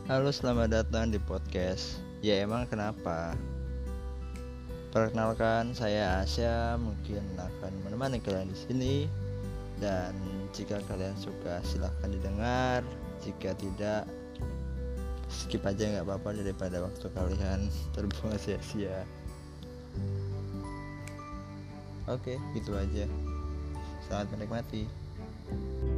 Halo, selamat datang di podcast. Ya emang kenapa? Perkenalkan, saya Asya, mungkin akan menemani kalian di sini. Dan jika kalian suka silahkan didengar. Jika tidak, skip aja nggak apa-apa daripada waktu kalian terbuang sia-sia. Oke, gitu aja. Selamat menikmati.